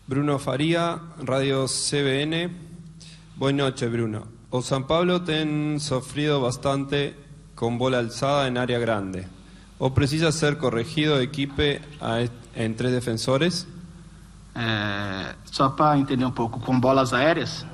Bruno Faría, Radio CBN. Buenas noches, Bruno. O San Pablo ten sofrido bastante con bola alzada en área grande. ¿O precisa ser corregido equipe en tres defensores? Só para entender pouco, com bolas aéreas?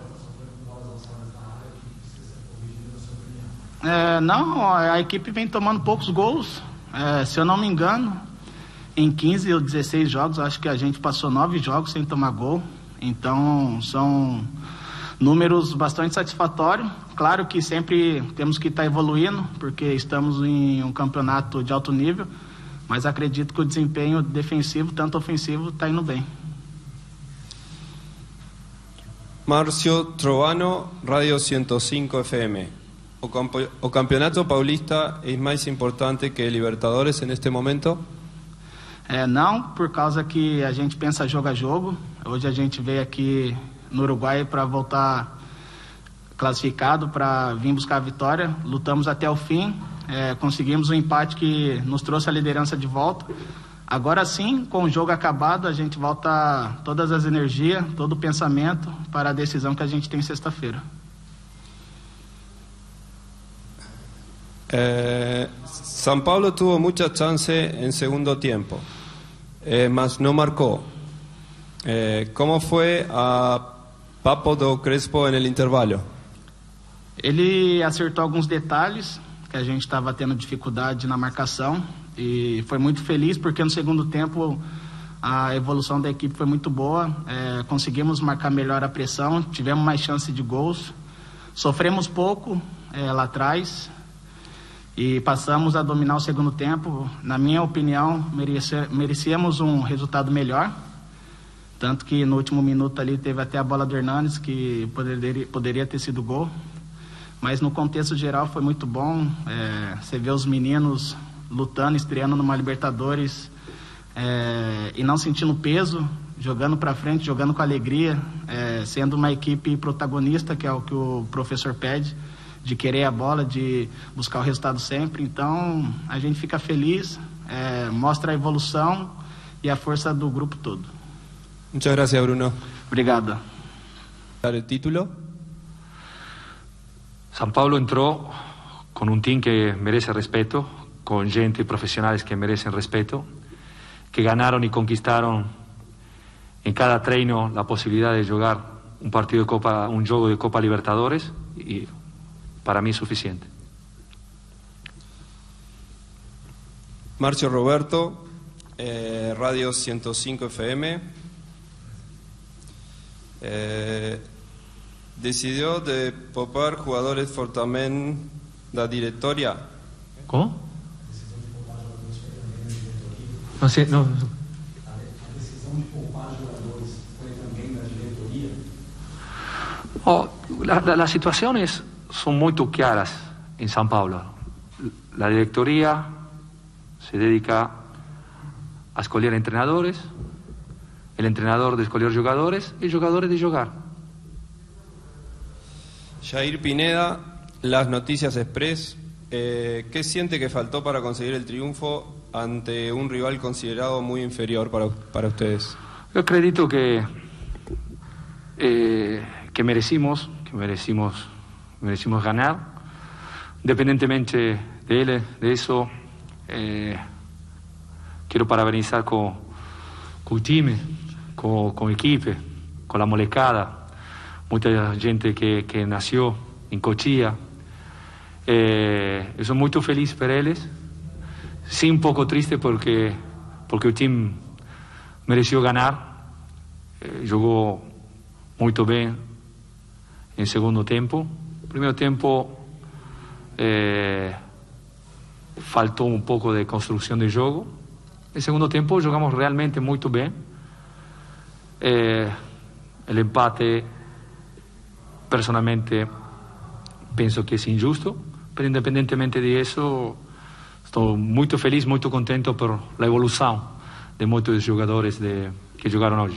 Não, a equipe vem tomando poucos gols. Se eu não me engano, em 15 ou 16 jogos, acho que a gente passou 9 jogos sem tomar gol. Então, são números bastante satisfatórios. Claro que sempre temos que estar evoluindo, porque estamos em um campeonato de alto nível, mas acredito que o desempenho defensivo, tanto ofensivo, está indo bem. Márcio Trovano, Radio 105 FM. ¿O Campeonato Paulista es más importante que Libertadores en este momento? Não, por causa que a gente pensa jogo a jogo. Hoje a gente veio aqui no Uruguai para voltar classificado, para vir buscar a vitória. Lutamos até o fim, conseguimos um empate que nos trouxe a liderança de volta. Agora sim, com o jogo acabado, a gente volta todas as energias, todo o pensamento para a decisão que a gente tem sexta-feira. San Pablo tuvo mucha chance en segundo tiempo, mas no marcó. ¿Cómo fue a Papo do Crespo en el intervalo? Ele acertou alguns detalhes, que a gente estava tendo dificuldade na marcação, e foi muito feliz porque no segundo tempo a evolução da equipe foi muito boa. Conseguimos marcar melhor a pressão, tivemos mais chance de gols, sofremos pouco lá atrás e passamos a dominar o segundo tempo. Na minha opinião, merecíamos um resultado melhor, tanto que no último minuto ali teve até a bola do Hernanes, que poderia ter sido gol, mas no contexto geral foi muito bom. Você vê os meninos lutando, estreando numa Libertadores, e não sentindo peso, jogando para frente, jogando com alegria, sendo uma equipe protagonista, que é o que o professor pede, de querer a bola, de buscar o resultado sempre. Então a gente fica feliz, mostra a evolução e a força do grupo todo. Muchas gracias, Bruno. Obrigado. ¿Dar el título? San Pablo entró con un team que merece respeto, con gente profesionales que merecen respeto, que ganaron y conquistaron en cada treino la posibilidad de jugar un partido de Copa, un juego de Copa Libertadores, y para mí es suficiente. Marcio Roberto, Radio 105 FM. Decidió de poupar jugadores fortemente da diretoria. ¿Cómo? No sé, no. Las situaciones son muy claras en San Pablo. La directoría se dedica a escoger entrenadores, el entrenador de escoger jugadores y jugadores de jugar. Jair Pineda, Las Noticias Express. ¿Qué siente que faltó para conseguir el triunfo ante un rival considerado muy inferior para ustedes? Yo acredito que merecimos ganar. Independientemente de eso, quiero parabenizar con el team, con el equipo, con la molecada, mucha gente que nació en Cochilla. Yo soy muy feliz por ellos, sí un poco triste porque el team mereció ganar. Jugó muy bien en segundo tiempo. Primer tiempo faltó un poco de construcción de juego. En segundo tiempo jugamos realmente muy bien. El empate, personalmente, pienso que es injusto, pero independientemente de eso, estoy muy feliz, muy contento por la evolución de muchos jugadores que jugaron hoy.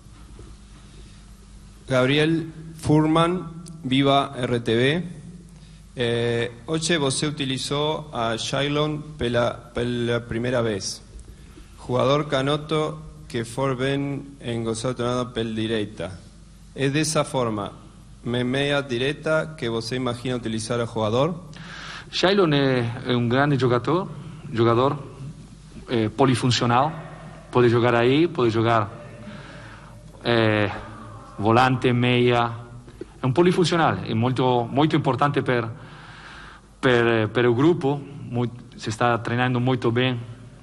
Gabriel Furman, Viva RTV. Hoy você utilizó a Shailon pela primera vez. Jugador canoto que for bem em gostar tornado pel direita. É dessa forma, meia direta, que você imagina utilizar o jogador? Shailon é um grande jogador polifuncional, pode jogar aí, pode jogar volante, meia, é um polifuncional, é muito importante per o grupo, se está treinando muito bem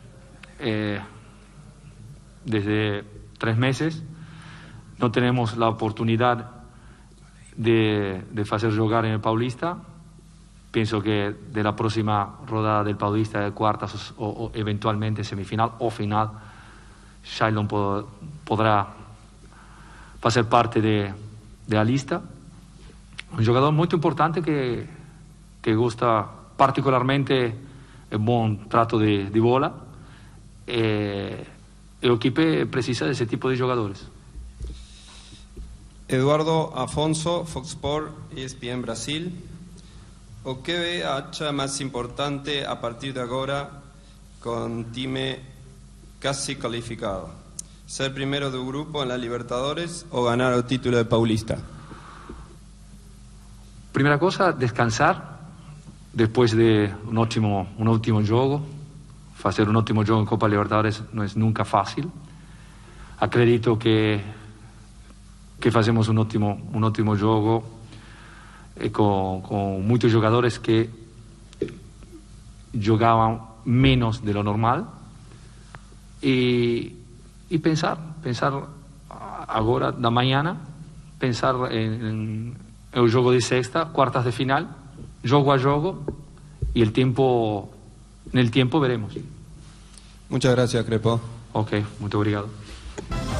desde 3 meses, não temos a oportunidade de fazer jogar en el Paulista. Pienso que de la próxima rodada del Paulista de cuartas o eventualmente semifinal o final, Shailon podrá fazer parte de la lista. Un jugador muy importante que gusta particularmente el buen trato de bola. El equipo precisa de ese tipo de jugadores. Eduardo Afonso, Fox Sports, ESPN Brasil. O que acha mais importante a partir de agora com time casi qualificado? Ser primeiro do grupo en la Libertadores o ganar o título de Paulista? Primera cosa, descansar después de un último juego. Hacer un último juego en Copa Libertadores no es nunca fácil. Acredito que hacemos un último juego con muchos jugadores que jugaban menos de lo normal y pensar ahora da mañana, pensar en el juego de sexta, cuartas de final, juego a juego, y en el tiempo veremos. Muchas gracias, Crepo. Ok, muito obrigado.